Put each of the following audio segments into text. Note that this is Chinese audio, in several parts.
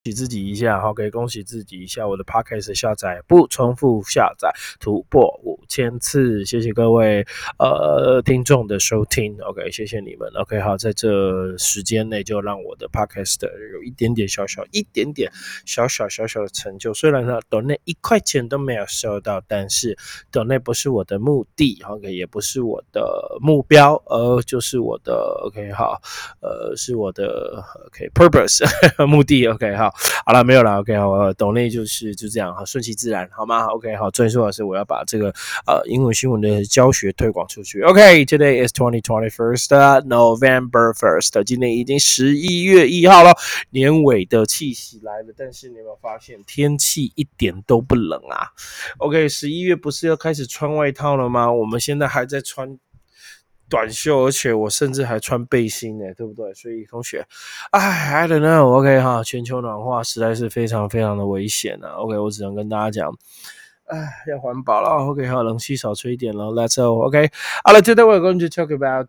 喜自己一下，OK，恭喜自己一下，我的 Podcast 下载不重复下载突破5000次，谢谢各位听众的收听 ，OK， 谢谢你们 ，OK， 好，在这时间内就让我的 Podcast 有一点点小小的成就，虽然呢donate1块钱都没有收到，但是donate不是我的目的 ，OK， 也不是我的目标，就是我的 OK 好，是我的 OK purpose 目的 OK 好。好了，没有了 ，OK， 好，懂内就这样，好，顺其自然，好吗 ？OK， 好，最重要的是我要把这个英文新闻的教学推广出去。OK，today is 2021st November 1st， 今天已经11月1号了，年尾的气息来了，但是你有没有发现天气一点都不冷啊 ？OK，11月不是要开始穿外套了吗？我们现在还在穿短袖，而且我甚至还穿背心呢，对不对？所以同学，I don't know，OK 哈，全球暖化实在是非常非常的危险啊。OK， 我只能跟大家讲，要环保了。OK， 好，冷气少吹一点了。Let's go。OK， 好了 ，Today we're going to talk about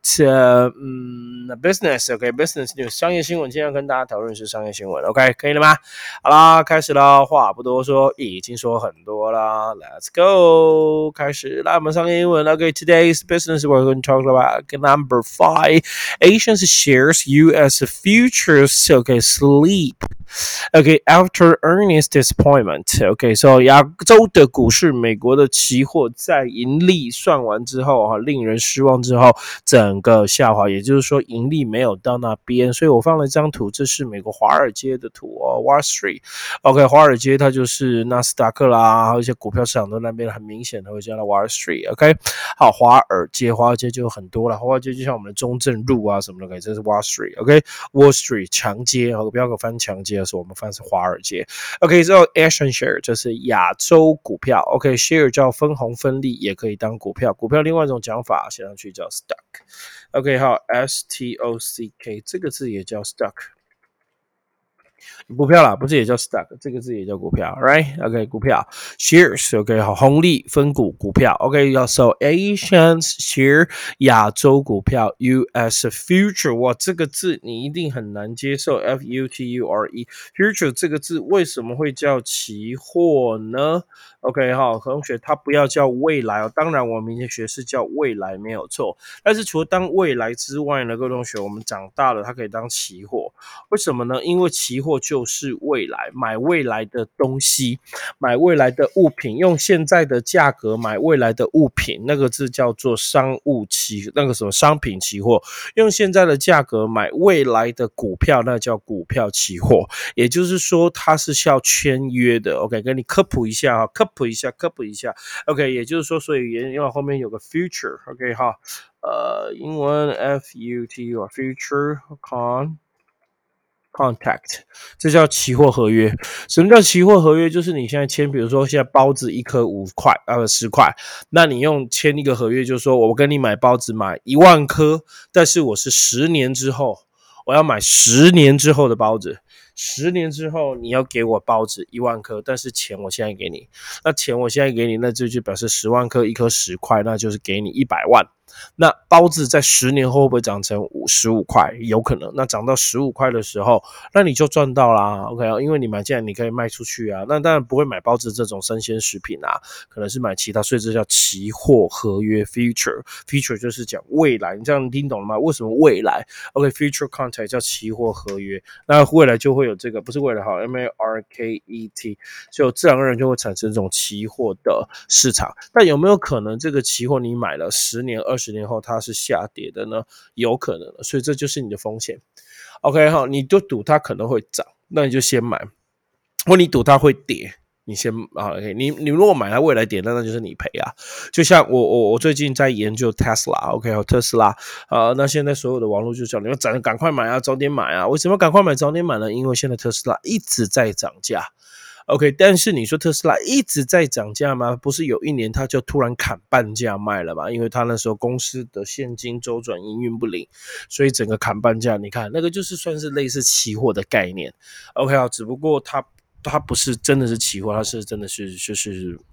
business。OK，business news， 商业新闻。今天要跟大家讨论是商业新闻。OK， 可以了吗？好啦，开始了。话不多说，已经说很多了。Let's go， 开始啦。我们商业英文。OK，today's business we're going to talk about number 5. Asians shares U.S. futures. OK, sleep.Okay, after earnings disappointment. Okay, so 亚洲的股市，美国的期货在盈利算完之后，令人失望之后，整个下滑，也就是说盈利没有到那边。所以我放了一张图，这是美国华尔街的图哦 ，Wall Street。OK， 华尔街它就是纳斯达克啦，还有一些股票市场都那边很明显的会叫它 Wall Street。OK， 好，华尔街就有很多了，华尔街就像我们的中正路啊什么的， OK， 这是 Wall Street。OK，Wall Street 强街，不要给我翻强街。我们翻是华尔街 ，OK， 之后 Asian share 就是亚洲股票 ，OK， share 叫分红分利，也可以当股票，股票另外一种讲法写上去叫 stock，OK， 好 ，STOCK 这个字也叫 stock。股票啦，不是也叫 stock， 这个字也叫股票 ，right？ OK， 股票 shares，OK， 好，红利分股股票 ，OK， so Asians share 亚洲股票 US future， 哇，这个字你一定很难接受 ，FUTURE future 这个字为什么会叫期货呢 ？OK， 好，同学，它不要叫未来哦，当然我们明天学是叫未来没有错，但是除了当未来之外呢，各位同学，我们长大了它可以当期货，为什么呢？因为期货就是未来，买未来的东西，买未来的物品，用现在的价格买未来的物品，那个字叫做商品期货，用现在的价格买未来的股票，那叫股票期货，也就是说它是需要签约的。OK， 跟你科普一下 OK， 也就是说，所以因为后面有个 future OK 哈，英文 FUTURE future contract， 这叫期货合约。什么叫期货合约？就是你现在签，比如说现在包子一颗5块10块，那你用签一个合约，就是说我跟你买包子买1万颗，但是我是10年之后，我要买10年之后的包子。10年之后你要给我包子1万颗，但是钱我现在给你，那钱我现在给你，那这就表示10万颗，一颗10块，那就是给你100万。那包子在10年后会不会涨成15块？有可能。那涨到15块的时候，那你就赚到啦 ，OK， 因为你买进来你可以卖出去啊。那当然不会买包子这种生鲜食品啊，可能是买其他，所以这叫期货合约 future 就是讲未来，你这样听懂了吗？为什么未来 ？OK， future contract 叫期货合约，那未来就会有这个，不是未来好 ，MARKET， 就自然而然就会产生这种期货的市场。但有没有可能这个期货你买了10年、20年后它是下跌的呢？有可能的，所以这就是你的风险。OK， 好，你就赌它可能会涨，那你就先买；或你赌它会跌，你先OK， 你如果买它未来跌，那就是你赔啊。就像我最近在研究 Tesla，OK， 特斯拉那现在所有的网络就讲你要赶快买啊，早点买啊。为什么赶快买早点买呢？因为现在特斯拉一直在涨价。OK， 但是你说特斯拉一直在涨价吗？不是有一年它就突然砍半价卖了嘛？因为它那时候公司的现金周转营运不灵，所以整个砍半价。你看那个就是算是类似期货的概念。OK， 只不过它不是真的是期货，它是真的是就是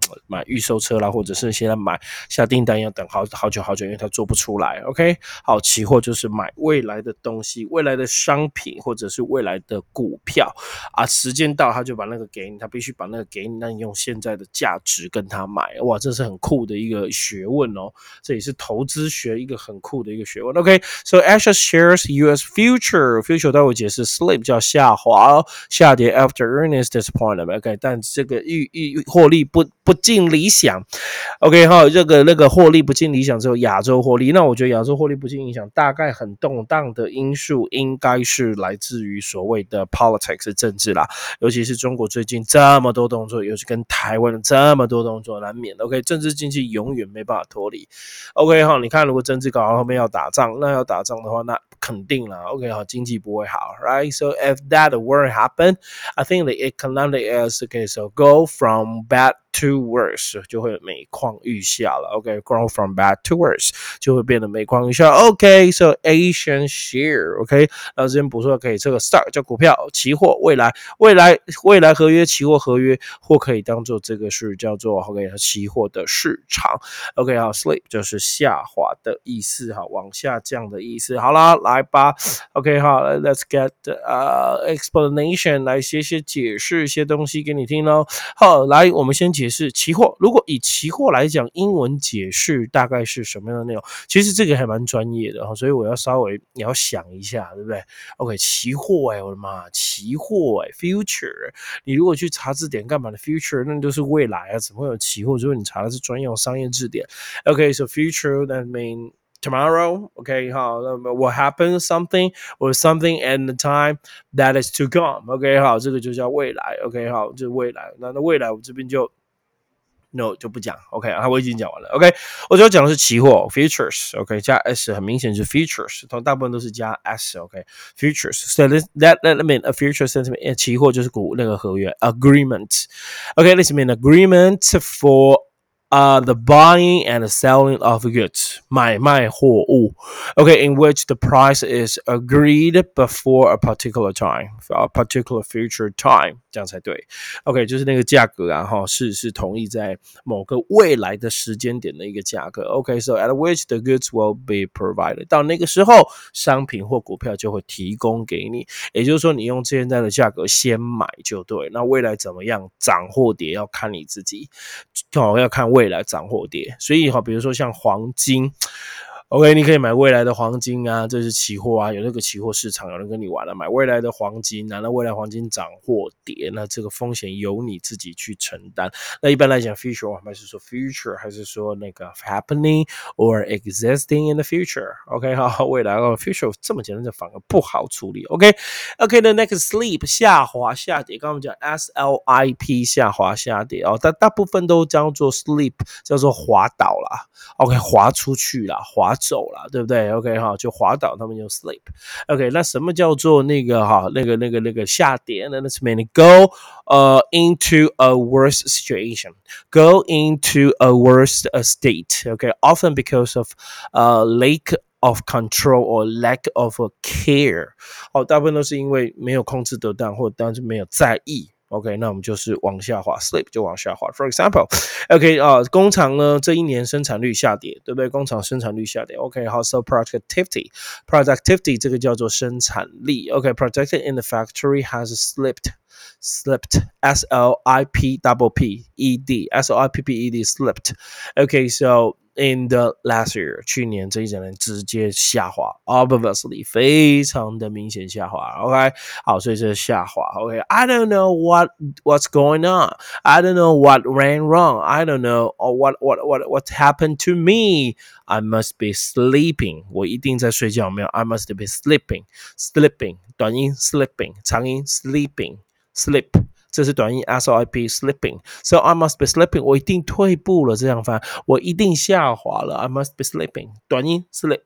买预售车啦，或者是现在下订单要等好久，因为它做不出来。OK， 好，期货就是买未来的东西，未来的商品或者是未来的股票啊，时间到他就把那个给你，他必须把那个给你，那你用现在的价值跟他买。哇，这是很酷的一个学问哦，这也是投资学一个很酷的一个学问。OK，so Asia shares US future 待会解释 sleep 叫下滑下跌 after earnings disappointment。OK， 但这个获利不尽理想。OK 哈，这个那个获利不尽理想之后，亚洲获利，那我觉得亚洲获利不尽理想，大概很动荡的因素应该是来自于所谓的 politics 政治啦，尤其是中国最近这么多动作，尤其跟台湾这么多动作，难免 OK， 政治经济永远没办法脱离。OK 哈，你看如果政治搞到后面要打仗，那要打仗的话，那肯定啦 OK 好，经济不会好 right， so if that were happen I think the economic is okay, so go from bad to worse 就会每况愈下了 OK go from bad to worse 就会变得每况愈下 OK so Asian share OK 那这边补充可以这个 stock 叫股票期货未来合约期货合约或可以当做这个是叫做 OK 期货的市场 OK 好 sleep 就是下滑的意思好往下降的意思好啦来吧 OK 好 let's get explanation 来写解释一些东西给你听咯好来我们先解释期货如果以期货来讲英文解释大概是什么样的内容其实这个还蛮专业的所以我要稍微你要想一下对不对 OK 期货我的妈期货future 你如果去查字典干嘛的 future 那就是未来怎么会有期货如果你查的是专用商业字典 OK so future that mean tomorrow, okay, what happened something or something at the time that is to come, okay, 好，这个就叫未来 ，OK， 好，这是未来。那未来我这边就 no 就不讲 ，OK， 我已经讲完了 ，OK， 我主要讲的是期货 futures，OK， 加 s 很明显是 futures， 大部分都是加 s，OK，futures，so that mean a future sentiment， 期货就是那个合约 agreement，OK，this mean agreement for。The buying and selling of goods 买卖货物 okay in which the price is agreed before a particular time a particular future time 这样才对 OK 就是那个价格是同意在某个未来的时间点的一个价格 OK so at which the goods will be provided 到那个时候商品或股票就会提供给你也就是说你用现在的价格先买就对那未来怎么样涨或跌要看你自己要看未来涨或跌所以比如说像黄金 OK 你可以买未来的黄金啊这是期货啊有那个期货市场有人跟你玩了买未来的黄金啊那未来黄金涨或跌那这个风险由你自己去承担那一般来讲 future 还是说 future 还是说那个 happening or existing in the future OK 好未来future 这么简单就反而不好处理 OK the next sleep 下滑下跌刚刚我们讲 SLIP 下滑下跌但大部分都叫做 sleep 叫做滑倒啦 OK 滑出去啦滑走啦对不对 OK 就滑倒他们就 sleep OK 那什么叫做那个下跌呢 Let's mean go into a worse situation go into a worse state OK often because of lack of control or lack of care 大部分都是因为没有控制得当或当然是没有在意OK 那我们就是往下滑 sleep 就往下滑 For example OK 工厂呢这一年生产率下跌对不对工厂生产率下跌 OK 好 so productivity 这个叫做生产力 OK productivity in the factory has slipped S-L-I-P-P-E-D S-L-I-P-P-E-D slipped OK so in the last year 去年这一整年直接下滑 obviously 非常的明显下滑 OK 好所以这是下滑 OK I don't know what's going on I don't know what ran wrong I don't know or what happened to me I must be sleeping 我一定在睡觉没有 I must be sleeping 短音 sleeping 长音 sleeping sleep 这是短音 SLIP slipping so I must be sleeping 我一定退步了这样翻我一定下滑了 I must be sleeping 短音 sleeping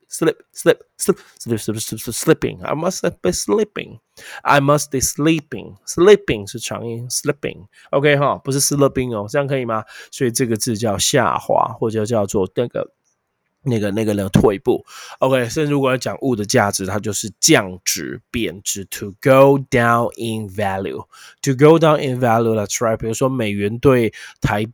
I must be sleeping I must be sleeping 是长音 sleeping OK 不是斯乐冰这样可以吗所以这个字叫下滑或者叫做那个退步 OK 甚至如果要讲物的价值它就是降值贬值 to go down in value to go down in value that's right 比如说美元对台币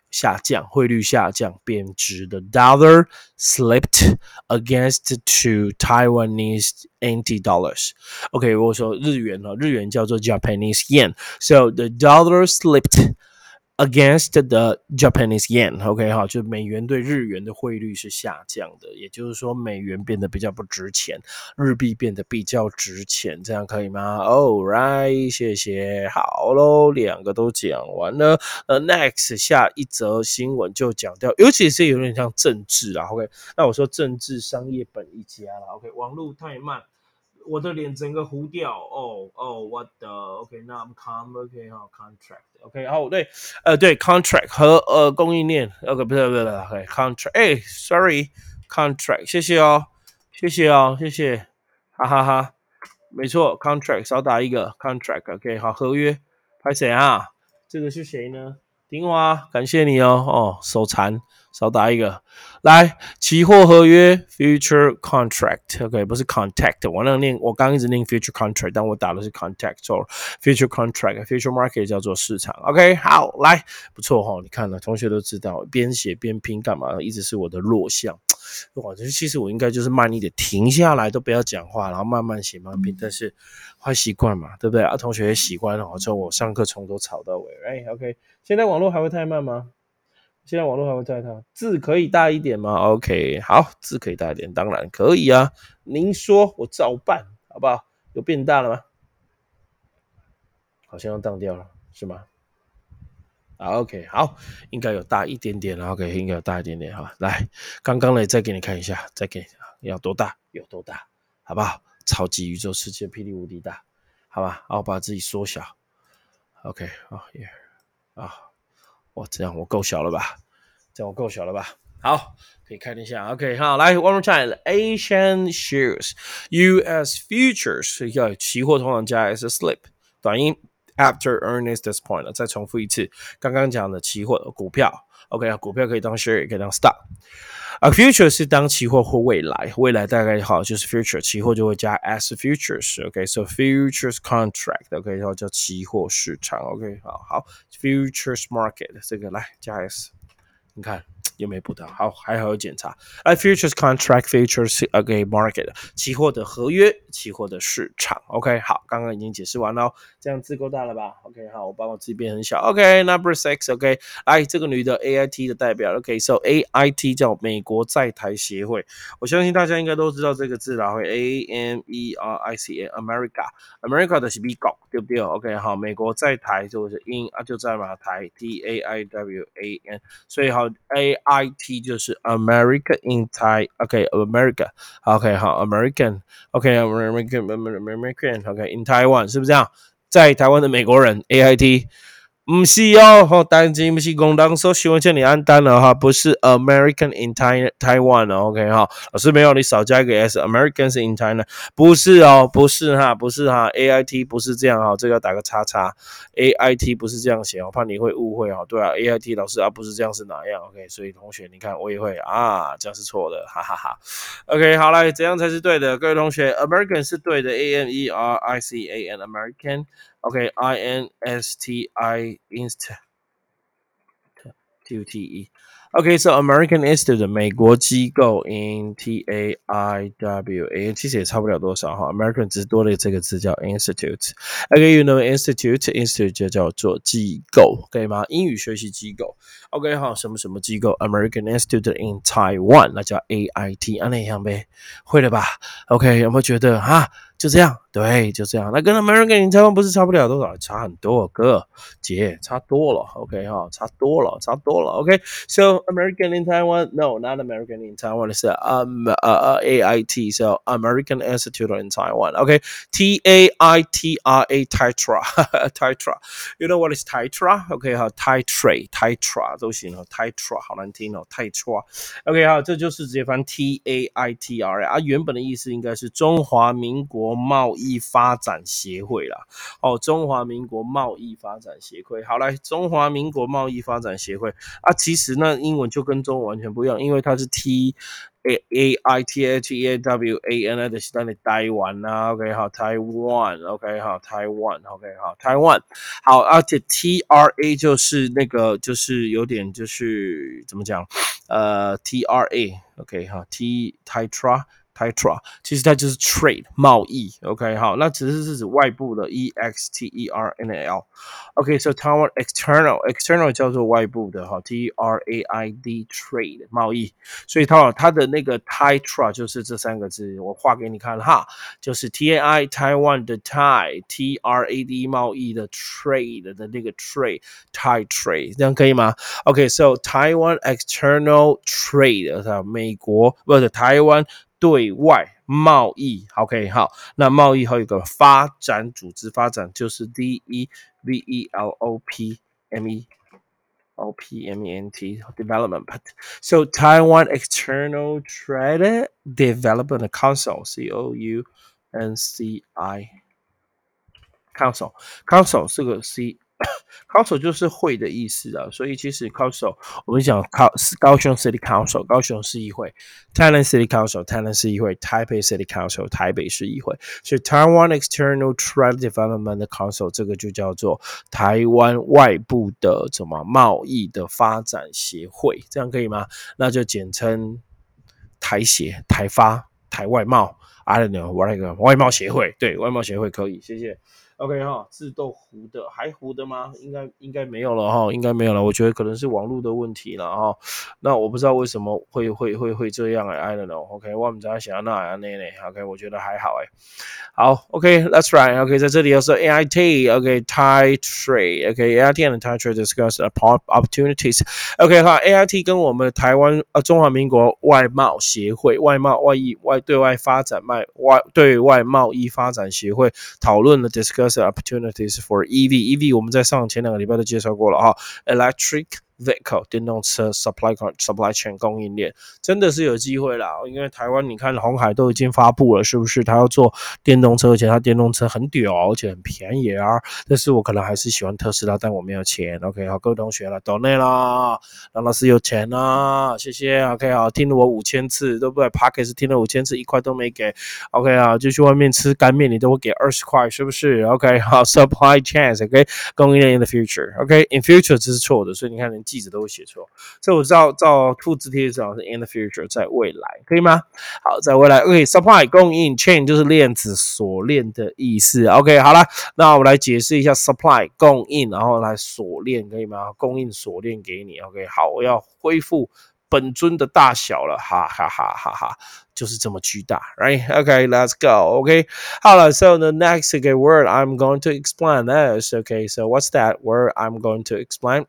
下降，汇率下降，贬值。The dollar slipped against to Taiwanese NT dollars. OK， 我说日元哦，日元叫做 Japanese yen. So the dollar slipped against the Japanese yen，OK， 好，就美元对日元的汇率是下降的，也就是说美元变得比较不值钱，日币变得比较值钱，这样可以吗 ？All right， 谢谢，好咯，两个都讲完了。Next 下一则新闻就讲掉，尤其是有点像政治啊 ，OK， 那我说政治商业本一家啦 ，OK， 网络太慢。我的脸整个糊掉what the OK， 那我们 OK 哈 contract OK 好对 contract 和供应链 OK 不是OK contract sorry contract 谢谢哦谢谢哈哈哈没错 contract 少打一个 contract OK 好合约拍谁啊？这个是谁呢？丁华感谢你哦手残少打一个。来，期货合约 future contract，OK， 不是 contact， 我刚一直念 future contract， 但我打的是 contact， 错了 ，future contract，future market 叫做市场 ，OK， 好，来，不错哈，你看了，同学都知道，边写边拼干嘛？一直是我的弱项。哇，其实我应该就是慢一点，停下来都不要讲话，然后慢慢写慢慢拼，但是坏习惯嘛，对不对啊？同学也习惯了，之后我上课从头吵到尾，哎 ，OK， 现在网络还会太慢吗？现在网络还会太慢，字可以大一点吗 ？OK， 好，字可以大一点，当然可以啊。您说，我照办，好不好？有变大了吗？好像要当掉了，是吗？OK， 好，应该有大一点点了。OK， 应该有大一点点哈。来，刚刚呢，再给你看一下，再给要多大有多大，好不好？超级宇宙世界霹雳无敌大，好吧？然后把自己缩小。OK， 啊，哇，这样我够小了吧？这样我够小了吧？好，可以看一下。OK， 好，来 one more time。Asian shares, U.S. futures 要期貨通常加 S slip 短音 after earnings this point 再重复一次，刚刚讲的期货股票 ，OK， 股票可以当 share 也可以当 stock。future 是当期货或未来，未来大概好就是 future， 期货就会加 as futures，OK，so futures contract，OK， 然后叫期货市场 ，OK， 好 futures market 这个来加 s， 你看。有没有补到？好，还好有检查。futures contract futures OK market 期货的合约，期货的市场。OK， 好，刚刚已经解释完了，这样字够大了吧 ？OK， 好，我把我字变很小。OK，number six，OK， 来这个女的 AIT 的代表 ，OK，so AIT 叫美国在台协会，我相信大家应该都知道这个字啦，会 AMERICA America 的是美国，对不对 ？OK， 好，美国在台就是 in 就在马台 TAIWAN， 所以好 AIT 就是 America in Thai，OK，America，OK， 好 American，OK，American，OK in Taiwan 是不是这样？在台湾的美国人 AIT。不是哦，单机不是公当说新闻叫你按单了哈，不是 American in Taiwan 哦 ，OK 哈，老师没有你少加一个 S，Americans in China 不是哦，不是哈，AIT 不是这样哈，这个要打个叉叉 ，AIT 不是这样写，我怕你会误会哦，对啊，AIT 老师啊不是这样是哪样 ？OK， 所以同学你看我也会啊，这样是错的，哈哈哈。OK， 好来，怎样才是对的？各位同学 ，American 是对的，AMERICAN American。OK，INSTI Institute，OK， so American Institute 美国机构 in TAIWA， 其实也差不了多少哈 ，American 只多了这个字叫 Institute。OK，you know Institute 就叫做机构，可以吗？英语学习机构。OK， 好，什么什么机构 ？American Institute in Taiwan， 那叫 AIT， 那样呗，会了吧 ？OK， 有没有觉得哈？就这样，对，就这样。那跟 American in Taiwan 不是差不了多少，差很多，哥姐差多了。OK 哈，差多了。OK，so American in Taiwan, no, not American in Taiwan. It's AIT, so American Institute in Taiwan. OK, TAITRA, Titra. You know what is Titra? OK 哈 Titra 都行哦 Titra 好难听哦 Titra。OK 好，这就是直接翻 TAITRA 啊，原本的意思应该是中华民国贸易发展协会啦。哦，中华民国贸易发展协会。好来，中华民国贸易发展协会啊，其实那英文就跟中文完全不一样，因为它是 T A I T A T A W A N 就是咱的台湾啊 ，OK 好，台湾 OK 好，台湾 OK 好，台湾好，而且 TRA 就是那个就是有点就是怎么讲TRA OK 好 Tetra，其实它就是 trade 贸易，OK 好，那只是指外部的 EXTERNAL，OK，so Taiwan external 叫做外部的哈，TRAID trade 贸易，所以它的那个 Tetra 就是这三个字，我画给你看哈，就是 TAI Taiwan 的 TRAD 贸易的 trade 的那个 Thai trade， 这样可以吗？OK，so Taiwan external trade， 美国不是台湾。对外贸易 ，OK， 好，那贸易还有一个发展组织，发展就是 DEVELOPMENT development. So Taiwan External Trade Development Council, Council 是个 Council 就是会的意思啊，所以其实 Council 我们讲高雄 City Council 高雄市议会 ，Thailand City Council 台南市议会 ，Taipei City Council 台北市议会，所以 Taiwan External Trade Development Council 这个就叫做台湾外部的什么贸易的发展协会，这样可以吗？那就简称台协、台发、台外贸。I don't know， 我那个外贸协会，对，外贸协会可以，谢谢。OK 哈，自动糊的还糊的吗？应该没有了哈，应该没有了。我觉得可能是网络的问题了哈。那我不知道为什么会这样I don't know。OK， 我们在想那呢 OK， 我觉得还好好 OK，that's right。OK， 在这里又是 AIT，OK，Thai Trade，OK，AIT and Thai Trade discuss opportunities。OK 哈，AIT 跟我们台湾中华民国外贸协会、对外发展对外贸易发展协会讨论了 discuss opportunities for EV。EV 我们在前2个礼拜都介绍过了哈，electric vehicle 电动车 supply chain 供应链真的是有机会啦，因为台湾你看鸿海都已经发布了，是不是？他要做电动车，而且他电动车很屌，而且很便宜啊。但是我可能还是喜欢特斯拉，但我没有钱。OK， 好，各位同学了，donate啦，让老师有钱啦，谢谢。OK， 好，听了我5000次，对不对 ？Podcast 听了5000次，1块都没给。OK 啊，就去外面吃干面，你都会给20块，是不是 ？OK， 好 ，supply chains，OK， 供应链 in the future，OK，in future 这是错的，所以你看连记者都会写错，所以我照复制贴上是 in the future， 在未来，可以吗？好，在未来 ，OK，supply 供应 chain 就是链子锁链的意思 ，OK， 好了，那我们来解释一下 supply 供应，然后来锁链，可以吗？供应锁链给你 ，OK， 好，我要恢复本尊的大小了，哈哈哈哈哈，就是这么巨大 ，right? Okay, let's go. Okay, 好了 so the next word I'm going to explain is okay. So what's that word I'm going to explain?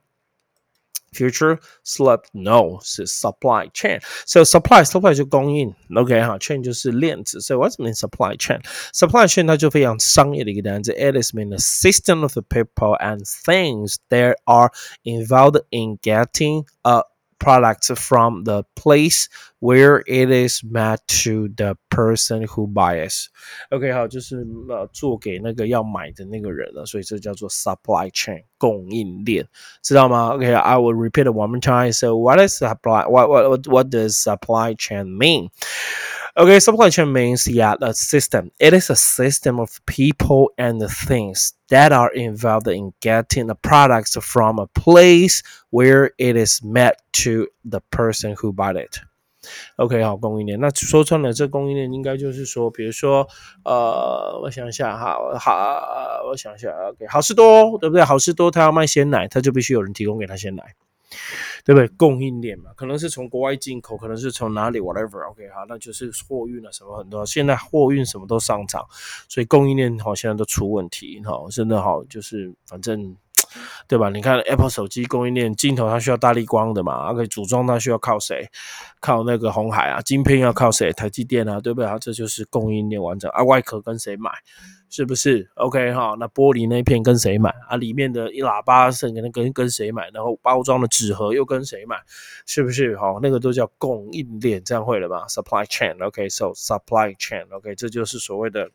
Future slip no 是 supply chain. So supply 就供应 ，OK 哈 ，chain 就是链子。So what's mean supply chain? Supply chain 它就非常商业的一个单词。It is mean a system of the people and things that are involved in getting a product from the place where it is met to the person who buys. OK， 好，就是做给那个要买的那个人了，所以这叫做 supply chain 供应链，知道吗 ？OK，I will repeat it one more time. So what is supply? What does supply chain mean? Okay, supply chain means a system. It is a system of people and things that are involved in getting the products from a place where it is met to the person who bought it. OK， 好，供应链。那说穿了，这供应链应该就是说，比如说，我想一下哈，我想一下 ，OK， 好事多，对不对？好事多他要卖鲜奶，他就必须有人提供给他鲜奶。对不对？供应链嘛，可能是从国外进口，可能是从哪里 whatever，OK， 好，那就是货运啊什么很多，现在货运什么都上涨，所以供应链好像都出问题，哈，真的好，就是反正。对吧？你看 Apple 手机供应链镜头它需要大立光的嘛，OK， 组装它需要靠谁？靠那个鸿海啊，晶片要靠谁？台积电啊，对不对？这就是供应链完整啊，外壳跟谁买？是不是 ？OK 哈，那玻璃那片跟谁买啊？里面的一喇叭是跟谁买？然后包装的纸盒又跟谁买？是不是？好，那个都叫供应链，这样会了吧 ？Supply chain，OK，so supply chain，OK，这就是所谓的。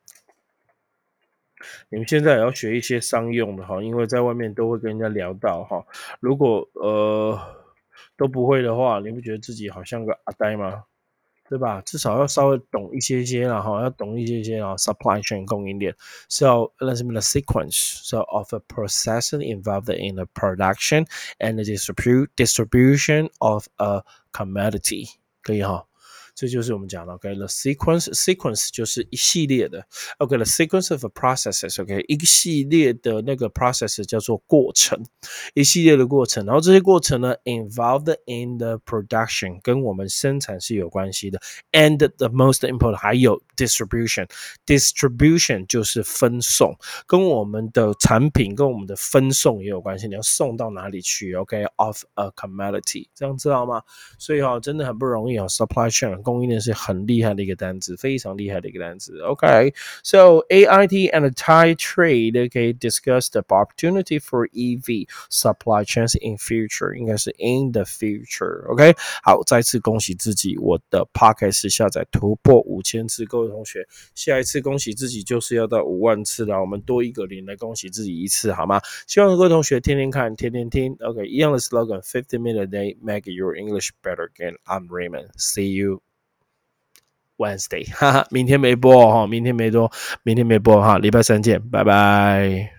你们现在也要学一些商用的哈，因为在外面都会跟人家聊到哈。如果都不会的话，你不觉得自己好像个阿呆吗？ 对吧？至少要稍微懂一些些啦，哈，要懂一些些啊，supply chain 供应链。So let's mean the sequence so of a processing involved in the production and the distribution of a commodity，可以哈。这就是我们讲的 OK，the sequence 就是一系列的 OK，the sequence of a processes OK， 一个系列的那个 process 叫做过程，一系列的过程，然后这些过程呢 involved in the production 跟我们生产是有关系的 and the most important 还有 distribution 就是分送，跟我们的产品跟我们的分送也有关系，你要送到哪里去 OK of a commodity， 这样知道吗？所以真的很不容易supply chain 供应链是很厉害的一个单词，非常厉害的一个单词。OK， so AIT and the Thai trade okay discuss the opportunity for EV supply chains in future， 应该是 in the future。OK， 好，再次恭喜自己，我的 podcast 下载突破5000次，各位同学，下一次恭喜自己就是要到50000次了，我们多一个零来恭喜自己一次，好吗？希望各位同学天天看，天天听。OK， 一样的 slogan，50 minutes a day make your English better again. I'm Raymond. See you Wednesday， 哈哈，明天没播哈，明天没播哈，礼拜三见，拜拜。